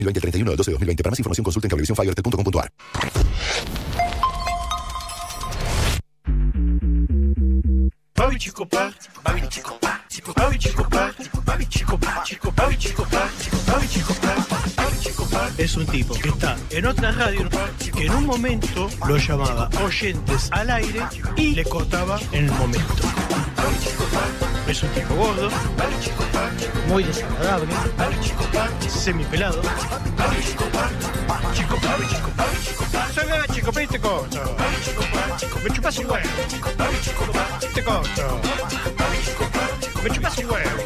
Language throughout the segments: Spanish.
2020 el 31 del 12 de 2020. Para más información consulten cablevisiónfiber.com.ar. Babi Chicopar, Babi Chicopar, Babi Chicopar, Babi Chicopar, Babi Chicopar, Babi Chicopar, Babi Chicopar es un tipo que está en otra radio que en un momento lo llamaba oyentes al aire y le cortaba en el momento. Babi Chicopar es un tipo gordo, Babi Chicopar, muy desagradable, Babi Chicopar, semipelado, Babi Chicopar, Chicopar, Chicopar, Chicopar, soy Babi Chicopar y te corto. Babi Chicopar, me chupas un huevo. Babi Chicopar, te corto. Me chupas un huevo.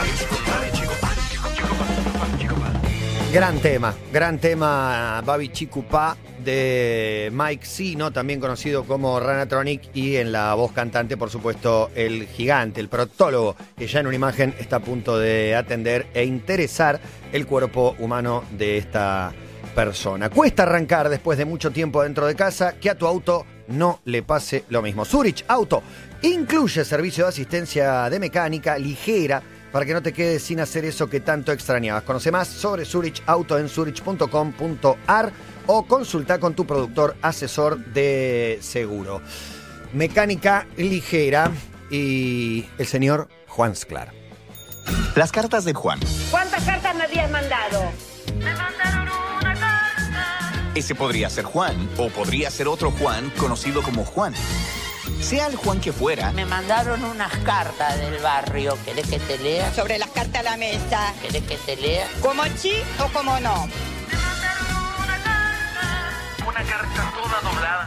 Gran tema, Babi Chicupá de Mike Sino, también conocido como Ranatronic, y en la voz cantante, por supuesto, el gigante, el proctólogo, que ya en una imagen está a punto de atender e interesar el cuerpo humano de esta persona. Cuesta arrancar después de mucho tiempo dentro de casa, que a tu auto no le pase lo mismo. Zurich Auto incluye servicio de asistencia de mecánica ligera para que no te quedes sin hacer eso que tanto extrañabas. Conoce más sobre Zurich Auto en zurich.com.ar o consulta con tu productor asesor de seguro. Mecánica ligera y el señor Juan Sclar. Las cartas de Juan. ¿Cuántas cartas me habías mandado? Me mandaron una carta. Ese podría ser Juan, o podría ser otro Juan conocido como Juan. Sea el Juan que fuera. Me mandaron unas cartas del barrio. ¿Querés que te lea? Sobre las cartas a la mesa. ¿Querés que te lea? ¿Como sí o como no? Me mandaron una carta toda doblada.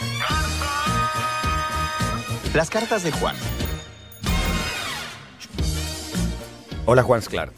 Las cartas de Juan. Hola, Juan Sclar.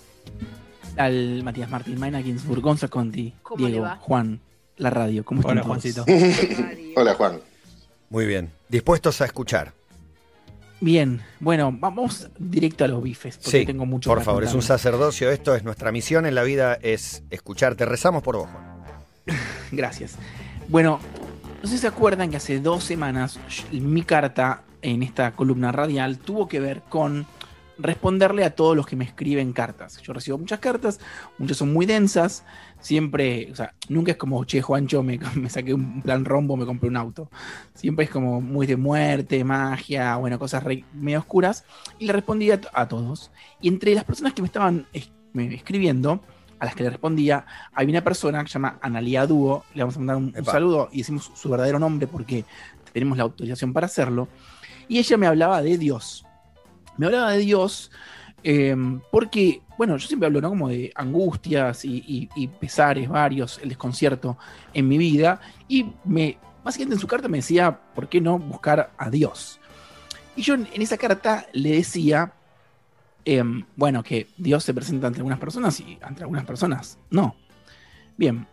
Al Matías Martín, Maina Ginsburg, Gonza Conti, ¿Cómo Diego, le va? Juan, la radio. ¿Cómo están Hola, todos? Juancito. Hola, Juan. Muy bien. ¿Dispuestos a escuchar? Bien, bueno, vamos directo a los bifes, porque Sí, tengo mucho por para favor, es un contarles. sacerdocio esto, es nuestra misión en la vida, es escucharte. Rezamos por vos, Juan. Gracias. Bueno, no sé si se acuerdan que hace 2 semanas mi carta en esta columna radial tuvo que ver con responderle a todos los que me escriben cartas. Yo recibo muchas cartas, muchas son muy densas, siempre, o sea, nunca es como, che, Juancho, me saqué un plan rombo, me compré un auto. Siempre es como muy de muerte, magia, bueno, cosas medio oscuras, y le respondí a todos. Y entre las personas que me estaban escribiendo, a las que le respondía, había una persona que se llama Analía Dúo, le vamos a mandar un saludo y decimos su verdadero nombre porque tenemos la autorización para hacerlo, y ella me hablaba de Dios. Me hablaba de Dios porque, bueno, yo siempre hablo, ¿no?, como de angustias y pesares varios, el desconcierto en mi vida, y básicamente en su carta me decía, ¿por qué no buscar a Dios? Y yo en esa carta le decía, bueno, que Dios se presenta ante algunas personas y ante algunas personas no. Bien.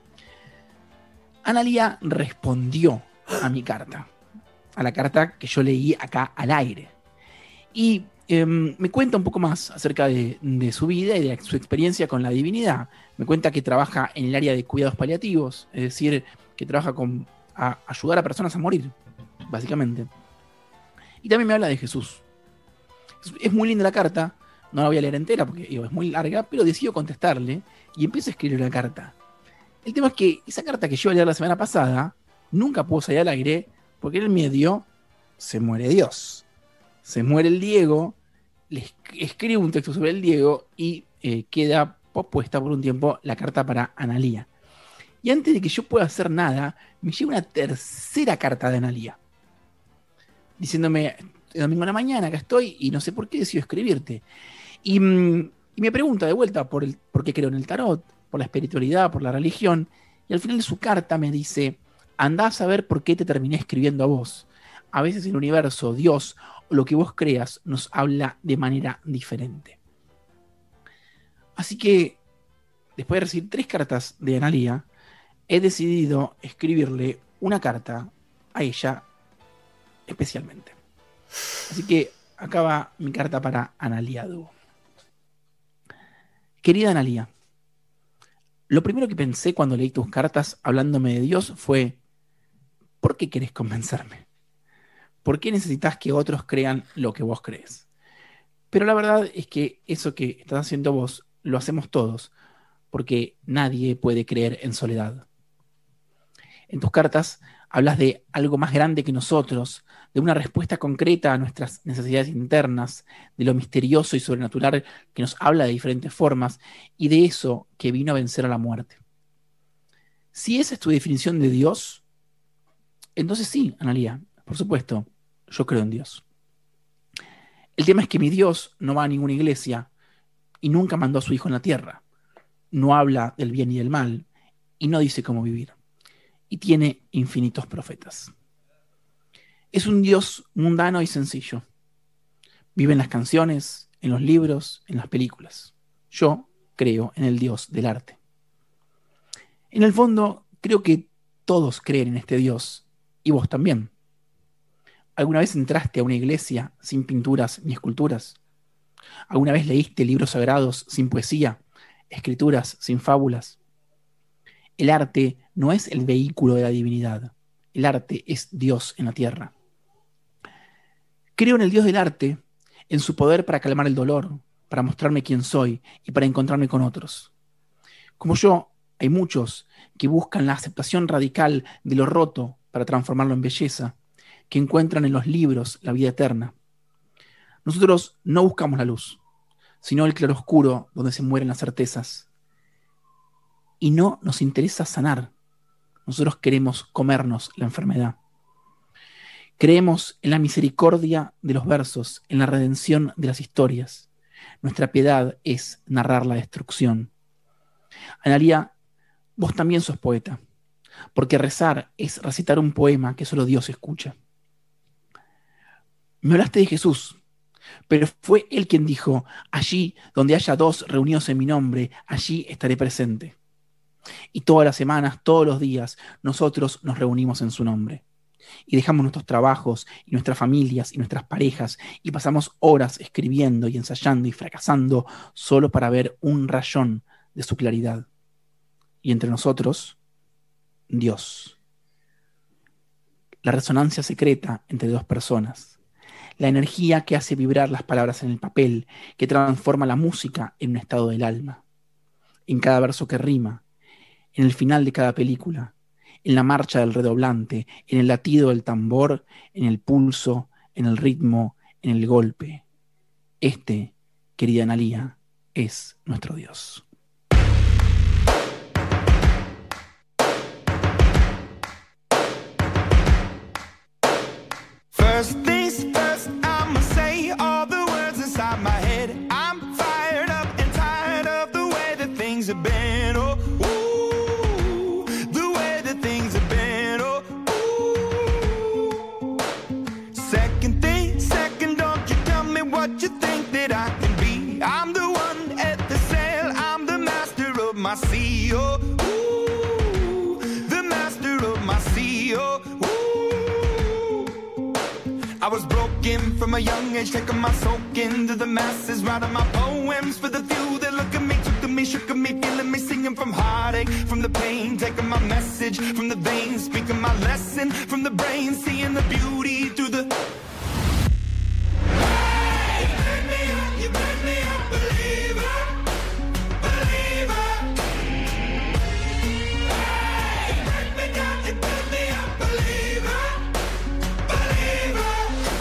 Analía respondió a mi carta, a la carta que yo leí acá al aire. Y me cuenta un poco más acerca de su vida y de su experiencia con la divinidad. Me cuenta que trabaja en el área de cuidados paliativos, es decir, que trabaja a ayudar a personas a morir, básicamente. Y también me habla de Jesús. Es muy linda la carta, no la voy a leer entera porque es muy larga, pero decido contestarle y empiezo a escribir una carta. El tema es que esa carta que yo iba a leer la semana pasada nunca pudo salir al aire porque en el medio se muere Dios. Se muere el Diego, le escribo un texto sobre el Diego y queda pospuesta por un tiempo la carta para Analía. Y antes de que yo pueda hacer nada, me llega una tercera carta de Analía, diciéndome, domingo a la mañana, acá estoy y no sé por qué decido escribirte. Y me pregunta de vuelta por qué creo en el tarot, por la espiritualidad, por la religión, y al final de su carta me dice, andá a saber por qué te terminé escribiendo a vos. A veces el universo, Dios o lo que vos creas nos habla de manera diferente. Así que, después de recibir 3 cartas de Analía, he decidido escribirle una carta a ella especialmente. Así que acá va mi carta para Analía Dúo. Querida Analía, lo primero que pensé cuando leí tus cartas hablándome de Dios fue, ¿por qué querés convencerme? ¿Por qué necesitas que otros crean lo que vos crees? Pero la verdad es que eso que estás haciendo vos, lo hacemos todos, porque nadie puede creer en soledad. En tus cartas hablas de algo más grande que nosotros, de una respuesta concreta a nuestras necesidades internas, de lo misterioso y sobrenatural que nos habla de diferentes formas y de eso que vino a vencer a la muerte. Si esa es tu definición de Dios, entonces sí, Analía, por supuesto, yo creo en Dios. El tema es que mi Dios no va a ninguna iglesia y nunca mandó a su hijo en la tierra. No habla del bien y del mal y no dice cómo vivir. Y tiene infinitos profetas. Es un Dios mundano y sencillo. Vive en las canciones, en los libros, en las películas. Yo creo en el Dios del arte. En el fondo, creo que todos creen en este Dios, y vos también. ¿Alguna vez entraste a una iglesia sin pinturas ni esculturas? ¿Alguna vez leíste libros sagrados sin poesía, escrituras sin fábulas? El arte no es el vehículo de la divinidad. El arte es Dios en la tierra. Creo en el Dios del arte, en su poder para calmar el dolor, para mostrarme quién soy y para encontrarme con otros. Como yo, hay muchos que buscan la aceptación radical de lo roto para transformarlo en belleza, que encuentran en los libros la vida eterna. Nosotros no buscamos la luz, sino el claroscuro donde se mueren las certezas. Y no nos interesa sanar. Nosotros queremos comernos la enfermedad. Creemos en la misericordia de los versos, en la redención de las historias. Nuestra piedad es narrar la destrucción. Analía, vos también sos poeta, porque rezar es recitar un poema que solo Dios escucha. Me hablaste de Jesús, pero fue Él quien dijo: allí donde haya dos reunidos en mi nombre, allí estaré presente. Y todas las semanas, todos los días, nosotros nos reunimos en su nombre. Y dejamos nuestros trabajos, y nuestras familias, y nuestras parejas, y pasamos horas escribiendo y ensayando y fracasando solo para ver un rayón de su claridad. Y entre nosotros, Dios. La resonancia secreta entre dos personas. La energía que hace vibrar las palabras en el papel, que transforma la música en un estado del alma. En cada verso que rima, en el final de cada película, en la marcha del redoblante, en el latido del tambor, en el pulso, en el ritmo, en el golpe. Este, querida Analía, es nuestro Dios. First things first, I'ma say all the words inside my head. I'm fired up and tired of the way that things have been. Oh, ooh, the way that things have been. Oh, ooh. Second thing, second, don't you tell me what you think that I can be. I'm the one at the sail, I'm the master of my sea. Oh, ooh, the master of my sea. Oh, I was broken from a young age, taking my soak into the masses, writing my poems for the few that look at me, took to me, shook at me, feeling me, singing from heartache, from the pain, taking my message from the veins, speaking my lesson from the brain, seeing the beauty through the... Hey, you burn me up, you burn me up, believer, believer. Hey, you burn me down, you burn me up, believer, believer.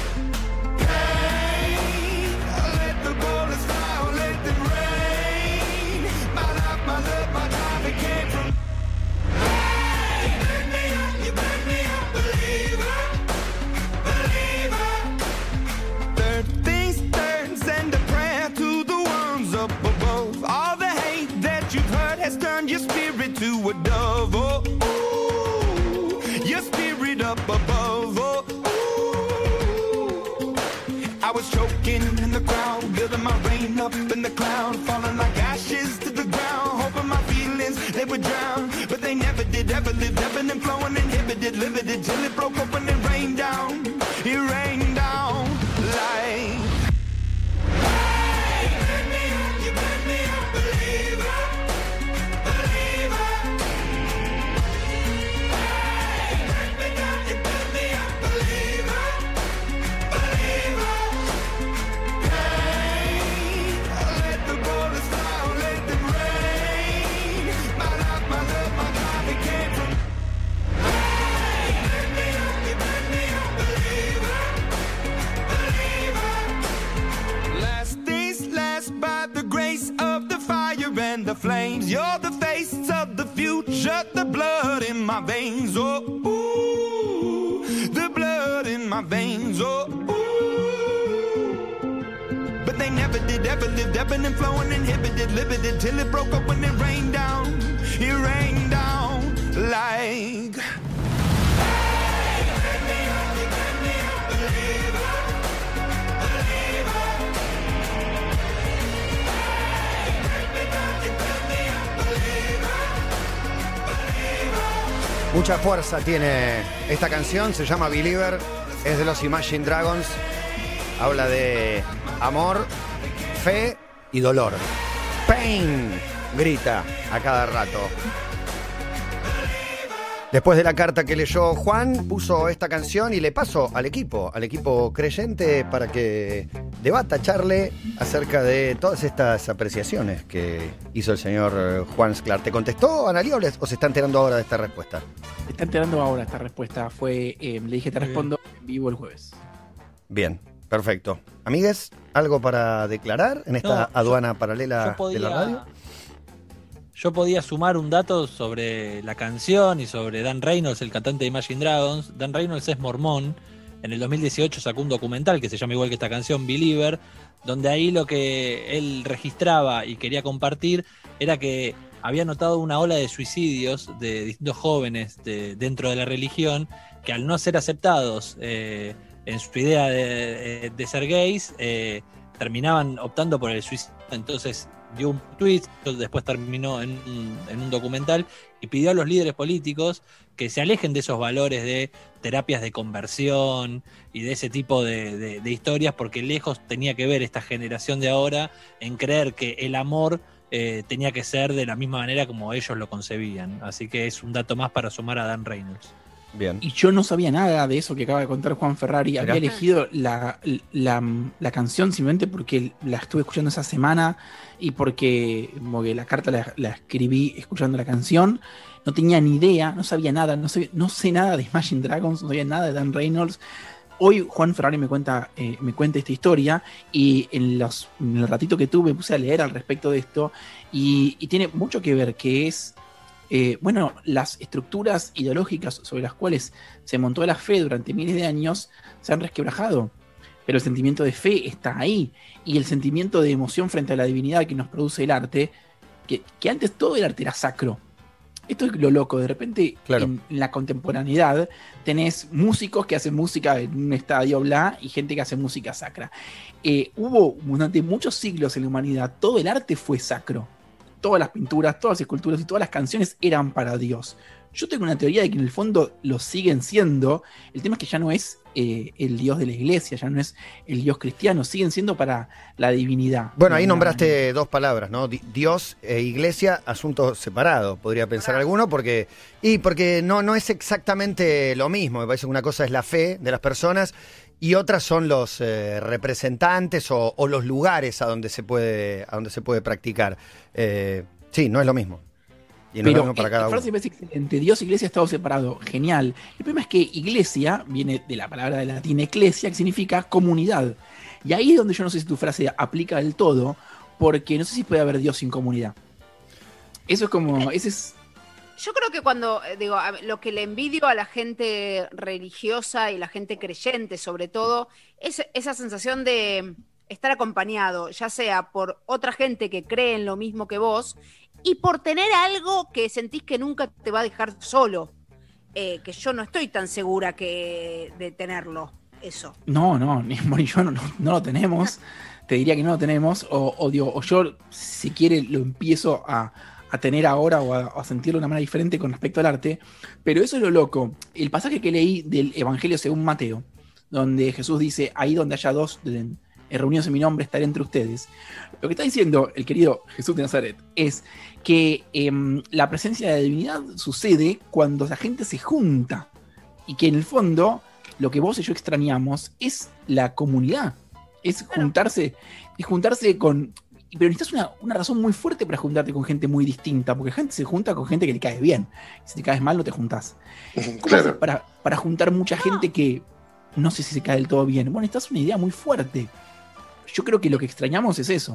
Turn your spirit to a dove, oh, ooh, your spirit up above, oh, ooh. I was choking in the crowd, building my rain up in the cloud, falling like ashes to the ground, hoping my feelings, they would drown, but they never did, ever lived, ebbing and flowing, inhibited, limited, till it broke open and rained down, it rained down like... Hey, you burn me up, you burn me up, believer. flames. You're the face of the future, the blood in my veins. Oh, ooh, the blood in my veins. Oh, ooh. But they never did, ever lived, ebbing and flowing, inhibited, limited, till it broke up when it rained down. It rained down like. Mucha fuerza tiene esta canción, se llama Believer, es de los Imagine Dragons, habla de amor, fe y dolor. Pain, grita a cada rato. Después de la carta que leyó Juan, puso esta canción y le paso al equipo creyente para que debata, charle acerca de todas estas apreciaciones que hizo el señor Juan Sclar. ¿Te contestó, Analía, o se está enterando ahora de esta respuesta? Se está enterando ahora esta respuesta. Le dije, te respondo en vivo el jueves. Bien, perfecto. Amigues, ¿algo para declarar en esta aduana paralela de la radio? Yo podía sumar un dato sobre la canción y sobre Dan Reynolds, el cantante de Imagine Dragons. Dan Reynolds es mormón. En el 2018 sacó un documental que se llama igual que esta canción, Believer, donde ahí lo que él registraba y quería compartir era que había notado una ola de suicidios de distintos jóvenes dentro de la religión que al no ser aceptados en su idea de ser gays, terminaban optando por el suicidio. Entonces dio un tweet, después terminó en un documental y pidió a los líderes políticos que se alejen de esos valores de terapias de conversión y de ese tipo de historias, porque lejos tenía que ver esta generación de ahora en creer que el amor tenía que ser de la misma manera como ellos lo concebían. Así que es un dato más para sumar a Dan Reynolds. Bien. Y yo no sabía nada de eso que acaba de contar Juan Ferrari. ¿Será? Había elegido la canción simplemente porque la estuve escuchando esa semana y porque la carta la escribí escuchando la canción. No tenía ni idea, no sabía nada, no sé nada de Imagine Dragons, no sabía nada de Dan Reynolds. Hoy Juan Ferrari me cuenta esta historia y en el ratito que tuve me puse a leer al respecto de esto y tiene mucho que ver, que es las estructuras ideológicas sobre las cuales se montó la fe durante miles de años se han resquebrajado, pero el sentimiento de fe está ahí, y el sentimiento de emoción frente a la divinidad que nos produce el arte, que antes todo el arte era sacro. Esto es lo loco, de repente claro. En la contemporaneidad tenés músicos que hacen música en un estadio bla y gente que hace música sacra. Hubo durante muchos siglos en la humanidad, todo el arte fue sacro. Todas las pinturas, todas las esculturas y todas las canciones eran para Dios. Yo tengo una teoría de que en el fondo lo siguen siendo. El tema es que ya no es el Dios de la iglesia, ya no es el Dios cristiano, siguen siendo para la divinidad. Bueno, ahí nombraste dos palabras, ¿no? Dios e iglesia, asuntos separados, podría pensar alguno, porque no es exactamente lo mismo. Me parece que una cosa es la fe de las personas y otras son los representantes o los lugares a donde se puede practicar. Sí, no es lo mismo. Y no es lo mismo para cada uno. La frase es excelente. Dios e iglesia estado separado. Genial. El problema es que iglesia viene de la palabra de latín ecclesia, que significa comunidad. Y ahí es donde yo no sé si tu frase aplica del todo, porque no sé si puede haber Dios sin comunidad. Eso es como... Yo creo que cuando, lo que le envidio a la gente religiosa y la gente creyente, sobre todo, es esa sensación de estar acompañado, ya sea por otra gente que cree en lo mismo que vos, y por tener algo que sentís que nunca te va a dejar solo, que yo no estoy tan segura de tenerlo, eso. No, ni yo no lo tenemos, te diría que no lo tenemos, o yo, si quiere, lo empiezo a tener ahora o a sentirlo de una manera diferente con respecto al arte, pero eso es lo loco. El pasaje que leí del Evangelio según Mateo, donde Jesús dice, ahí donde haya dos reunidos en mi nombre, estaré entre ustedes. Lo que está diciendo el querido Jesús de Nazaret es que la presencia de la divinidad sucede cuando la gente se junta, y que en el fondo lo que vos y yo extrañamos es la comunidad, es juntarse con... Pero necesitas una razón muy fuerte para juntarte con gente muy distinta, porque gente se junta con gente que le cae bien. Si te caes mal, no te juntás. ¿Cómo haces para juntar mucha gente que no sé si se cae del todo bien? Bueno, esta es una idea muy fuerte. Yo creo que lo que extrañamos es eso.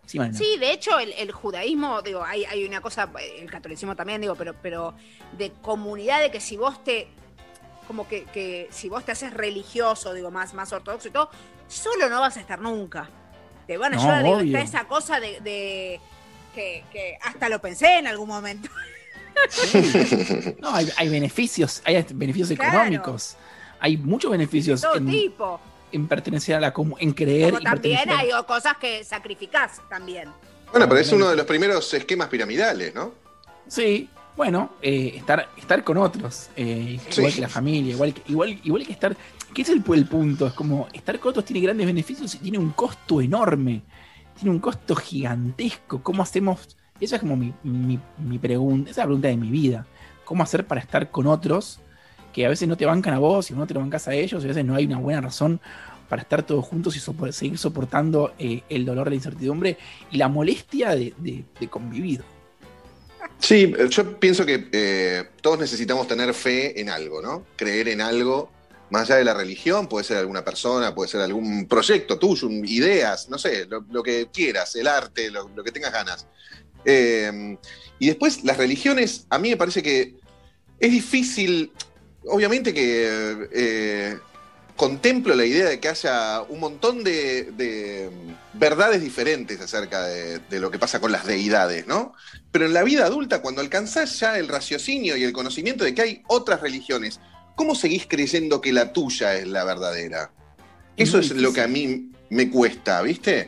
Sí, Marina. Sí, de hecho, el judaísmo, digo, hay una cosa, el catolicismo también, digo, pero de comunidad, de que si vos como que si vos te haces religioso, digo, más ortodoxo y todo, solo no vas a estar nunca. Te van a ayudar, digo, está esa cosa de que hasta lo pensé en algún momento. No, hay beneficios Claro. económicos. Hay muchos beneficios Todo tipo. en pertenecer a la comunidad, en creer. Como y también pertenecer. hay cosas que sacrificás también. Bueno, pero es uno de los primeros esquemas piramidales, ¿no? Sí, bueno, estar con otros, igual que la familia, igual que estar. ¿Qué es el punto? Es como estar con otros tiene grandes beneficios y tiene un costo enorme. Tiene un costo gigantesco. ¿Cómo hacemos? Esa es como mi pregunta, esa es la pregunta de mi vida. ¿Cómo hacer para estar con otros que a veces no te bancan a vos y no te lo bancas a ellos? Y a veces no hay una buena razón para estar todos juntos y seguir soportando el dolor, la incertidumbre y la molestia de convivir. Sí, yo pienso que todos necesitamos tener fe en algo, ¿no? Creer en algo, más allá de la religión, puede ser alguna persona, puede ser algún proyecto tuyo, ideas, no sé, lo que quieras, el arte, lo que tengas ganas. Y después las religiones, a mí me parece que es difícil, obviamente que contemplo la idea de que haya un montón de verdades diferentes acerca de lo que pasa con las deidades, ¿no? Pero en la vida adulta, cuando alcanzás ya el raciocinio y el conocimiento de que hay otras religiones, ¿cómo seguís creyendo que la tuya es la verdadera? Eso es lo que a mí me cuesta, ¿viste?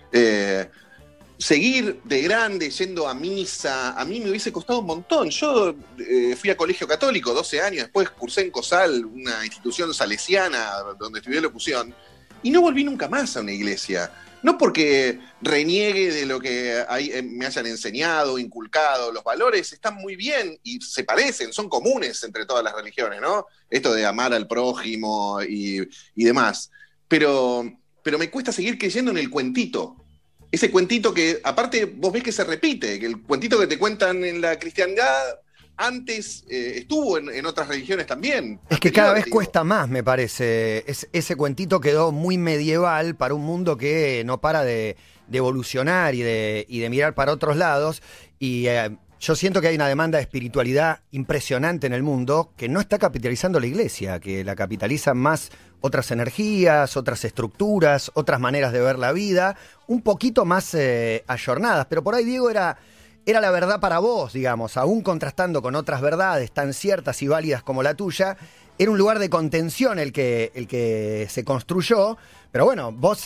Seguir de grande yendo a misa, a mí me hubiese costado un montón. Yo fui a colegio católico 12 años, después cursé en COSAL, una institución salesiana donde estudié locución, y no volví nunca más a una iglesia. No porque reniegue de lo que me hayan enseñado, inculcado, los valores están muy bien y se parecen, son comunes entre todas las religiones, ¿no? Esto de amar al prójimo y demás. Pero me cuesta seguir creyendo en el cuentito. Ese cuentito que, aparte, vos ves que se repite, que el cuentito que te cuentan en la cristiandad antes estuvo en otras religiones también. Es que cada vez cuesta más, me parece. Ese cuentito quedó muy medieval para un mundo que no para de evolucionar y de mirar para otros lados. Y yo siento que hay una demanda de espiritualidad impresionante en el mundo que no está capitalizando la iglesia, que la capitalizan más otras energías, otras estructuras, otras maneras de ver la vida, un poquito más ayornadas. Pero por ahí, Diego, era la verdad para vos, digamos, aún contrastando con otras verdades tan ciertas y válidas como la tuya, era un lugar de contención el que se construyó, pero bueno, vos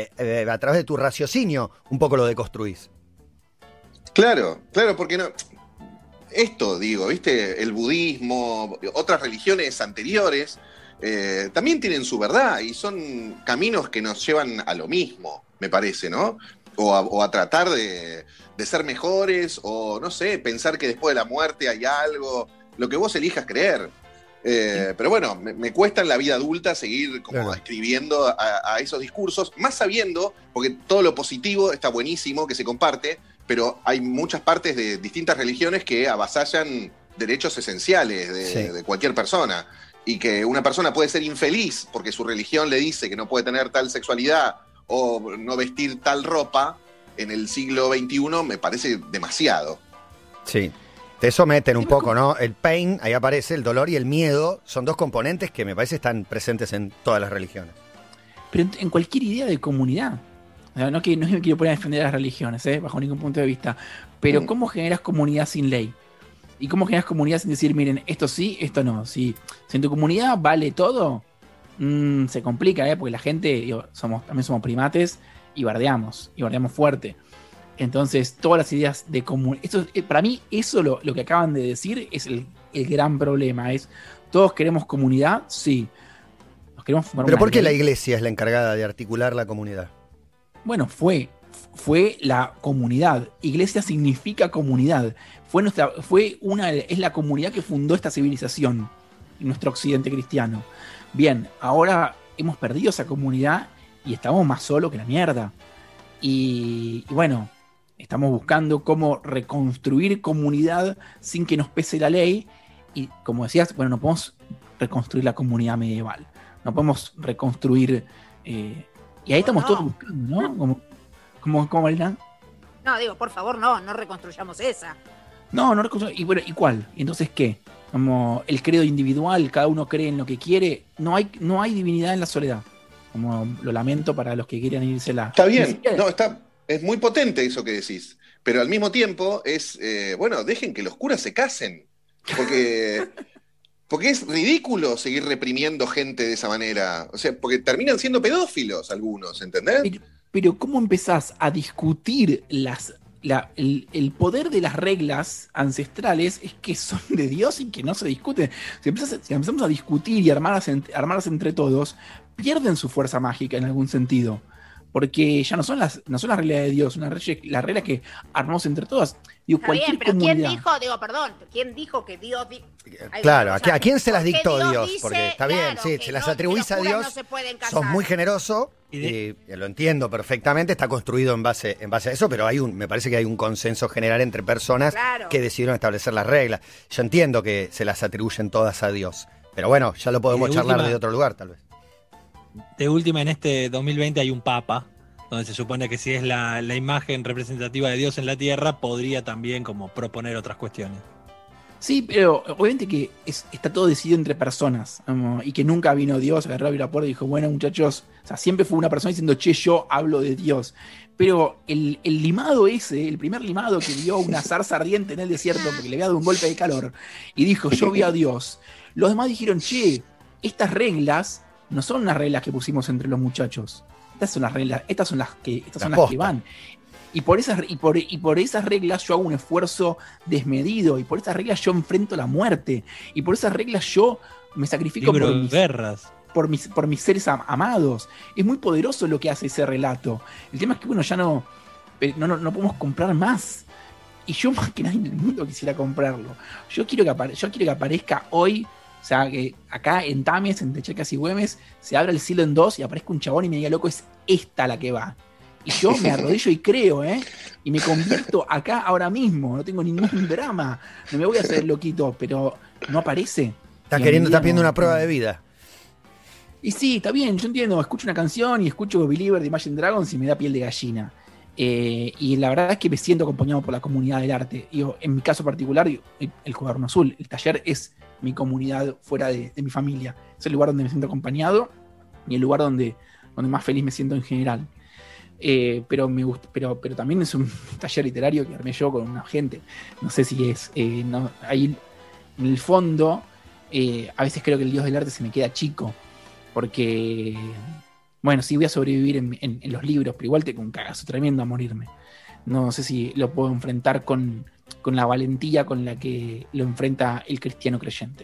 a través de tu raciocinio un poco lo deconstruís. Claro, porque no. Esto, digo, ¿viste? El budismo, otras religiones anteriores, también tienen su verdad y son caminos que nos llevan a lo mismo, me parece, ¿no? O a tratar de ser mejores, o no sé, pensar que después de la muerte hay algo, lo que vos elijas creer. Pero bueno, me cuesta en la vida adulta seguir como escribiendo a esos discursos, más sabiendo, porque todo lo positivo está buenísimo, que se comparte, pero hay muchas partes de distintas religiones que avasallan derechos esenciales de cualquier persona. Y que una persona puede ser infeliz porque su religión le dice que no puede tener tal sexualidad o no vestir tal ropa en el siglo XXI, me parece demasiado. Sí, te someten un poco, ¿no? El pain, ahí aparece, el dolor y el miedo, son dos componentes que me parece están presentes en todas las religiones. Pero en cualquier idea de comunidad. O sea, no me quiero poner a defender a las religiones, bajo ningún punto de vista. Pero ¿cómo generas comunidad sin ley? ¿Y cómo generas comunidad sin decir, miren, esto sí, esto no? Si en tu comunidad vale todo, se complica, porque la gente, también somos primates y bardeamos fuerte. Entonces, todas las ideas de comunidad, para mí, eso lo que acaban de decir es el gran problema. ¿Todos queremos comunidad? Sí. Nos queremos formar. ¿Pero por qué la iglesia es la encargada de articular la comunidad? Bueno, fue la comunidad. Iglesia significa comunidad. Es la comunidad que fundó esta civilización, nuestro occidente cristiano. Bien, ahora hemos perdido esa comunidad y estamos más solos que la mierda. Y bueno, estamos buscando cómo reconstruir comunidad sin que nos pese la ley. Y como decías, bueno, no podemos reconstruir la comunidad medieval. No podemos reconstruir... y ahí estamos todos buscando, ¿no? ¿Cómo, Marina? No, digo, por favor, no reconstruyamos esa. No, y bueno, ¿y cuál? Entonces, ¿qué? Como el credo individual, cada uno cree en lo que quiere. No hay divinidad en la soledad. Como lo lamento para los que quieran írsela. Está bien, es muy potente eso que decís. Pero al mismo tiempo es, dejen que los curas se casen. Porque es ridículo seguir reprimiendo gente de esa manera. O sea, porque terminan siendo pedófilos algunos, ¿entendés? Pero ¿cómo empezás a discutir el poder de las reglas ancestrales? Es que son de Dios y que no se discuten. Si empezamos a discutir y armarlas entre todos, pierden su fuerza mágica en algún sentido. Porque ya no son las reglas de Dios, las reglas que armamos entre todas. Digo, está bien, pero ¿quién dijo que Dios... Claro, ¿a quién se las dictó Dios? Dice, porque está bien, sí, se las atribuís a Dios, sos muy generoso, y lo entiendo perfectamente, está construido en base a eso, pero me parece que hay un consenso general entre personas que decidieron establecer las reglas. Yo entiendo que se las atribuyen todas a Dios, pero bueno, ya lo podemos charlar de otro lugar, tal vez. De última, en este 2020 hay un papa, donde se supone que si es la imagen representativa de Dios en la tierra, podría también como proponer otras cuestiones. Sí, pero obviamente que está todo decidido entre personas, y que nunca vino Dios, agarró la puerta y dijo, bueno, muchachos, o sea, siempre fue una persona diciendo, che, yo hablo de Dios. Pero el limado ese, el primer limado que vio una zarza ardiente en el desierto porque le había dado un golpe de calor y dijo, yo vi a Dios, los demás dijeron, che, estas reglas no son unas reglas que pusimos entre los muchachos. Estas son las reglas, estas son las que van. Y por esas reglas yo hago un esfuerzo desmedido. Y por esas reglas yo enfrento la muerte. Y por esas reglas yo me sacrifico por mis seres amados. Es muy poderoso lo que hace ese relato. El tema es que, bueno, ya no podemos comprar más. Y yo más que nadie en el mundo quisiera comprarlo. Yo quiero que aparezca hoy. O sea, que acá en Tames, entre Chacas y Güemes, se abra el cielo en dos y aparezca un chabón y me diga, loco, es esta la que va. Y yo me arrodillo y creo, y me convierto acá ahora mismo. No tengo ningún drama. No me voy a hacer loquito, pero no aparece. Estás pidiendo una prueba de vida. Y sí, está bien, yo entiendo. Escucho una canción y escucho Believer de Imagine Dragons y me da piel de gallina. Y la verdad es que me siento acompañado por la comunidad del arte. En mi caso particular, el Cuaderno Azul, el taller es mi comunidad fuera de mi familia. Es el lugar donde me siento acompañado y el lugar donde más feliz me siento en general. Pero me gusta, pero también es un taller literario que armé yo con una gente. No sé si es. Ahí en el fondo, a veces creo que el Dios del arte se me queda chico. Porque, bueno, sí voy a sobrevivir en los libros, pero igual tengo un cagazo tremendo a morirme. No sé si lo puedo enfrentar con la valentía con la que lo enfrenta el cristiano creyente.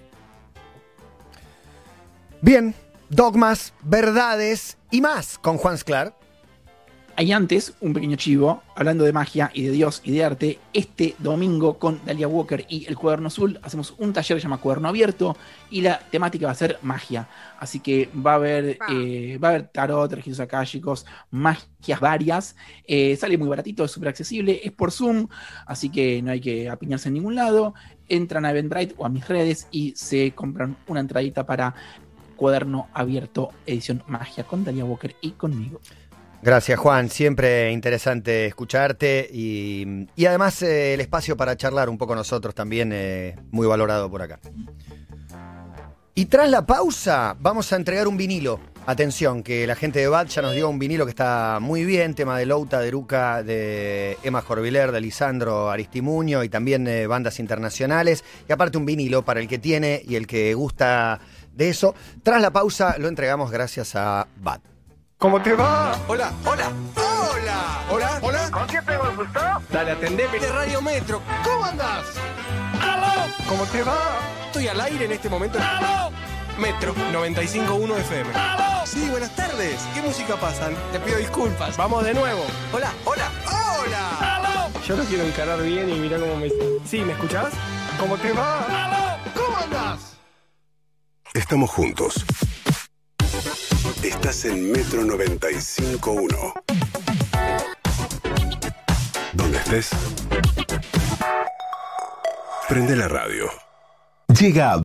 Bien, dogmas, verdades y más con Juan Sclar. Hay antes un pequeño chivo, hablando de magia y de Dios y de arte. Este domingo con Dalia Walker y el Cuaderno Azul hacemos un taller que se llama Cuaderno Abierto y la temática va a ser magia. Así que va a haber tarot, registros akáshicos, magias varias. Sale muy baratito, es súper accesible, es por Zoom, así que no hay que apiñarse en ningún lado. Entran a Eventbrite o a mis redes y se compran una entradita para Cuaderno Abierto, edición magia con Dalia Walker y conmigo. Gracias, Juan. Siempre interesante escucharte y además el espacio para charlar un poco nosotros también muy valorado por acá. Y tras la pausa vamos a entregar un vinilo. Atención, que la gente de BAD ya nos dio un vinilo que está muy bien, tema de Louta, de Eruca, de Emma Jorviler, de Lisandro Aristimuño y también bandas internacionales. Y aparte un vinilo para el que tiene y el que gusta de eso. Tras la pausa lo entregamos gracias a BAD. ¿Cómo te va? Hola, hola, hola, hola, hola. ¿Con quién tengo el gusto? Dale, atendeme. De Radio Metro. ¿Cómo andás? ¡Aló! ¿Cómo te va? Estoy al aire en este momento. ¡Aló! Metro 95.1 FM. ¡Aló! Sí, buenas tardes. ¿Qué música pasan? Te pido disculpas. Vamos de nuevo. Hola, hola, hola. ¡Aló! Yo lo quiero encarar bien y mirá cómo me... Sí, ¿me escuchás? ¿Cómo te va? ¡Aló! ¿Cómo andás? Estamos juntos. Estás en Metro 95.1. Donde estés, prende la radio. Llega